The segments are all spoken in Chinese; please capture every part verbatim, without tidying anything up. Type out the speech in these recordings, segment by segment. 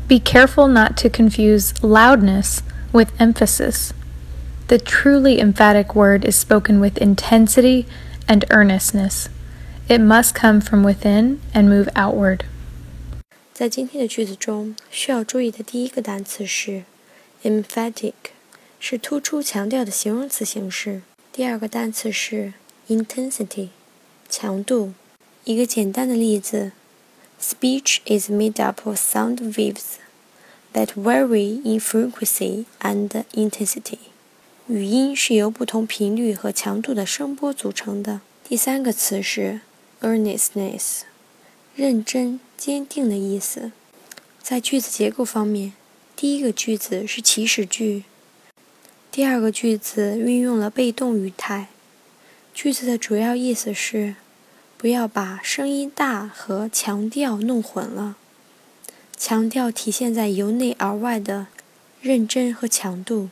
Be careful not to confuse loudness with emphasis. The truly emphatic word is spoken with intensity and earnestness. It must come from within and move outward. 在今天的句子中，需要注意的第一个单词是 emphatic， 是突出强调的形容词形式。第二个单词是 intensity， 强度。一个简单的例子 Speech is made up of sound waves that vary in frequency and intensity. 语音是由不同频率和强度的声波组成的。第三个词是 earnestness， 认真、坚定的意思。在句子结构方面，第一个句子是祈使句，第二个句子运用了被动语态。句子的主要意思是不要把声音大和强调弄混了，强调体现在由内而外的认真和强度。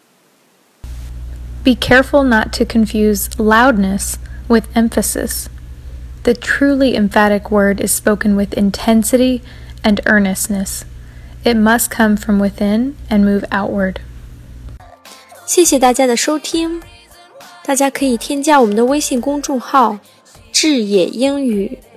Be careful not to confuse loudness with emphasis. The truly emphatic word is spoken with intensity and earnestness. It must come from within and move outward. 谢谢大家的收听，大家可以添加我们的微信公众号智野英语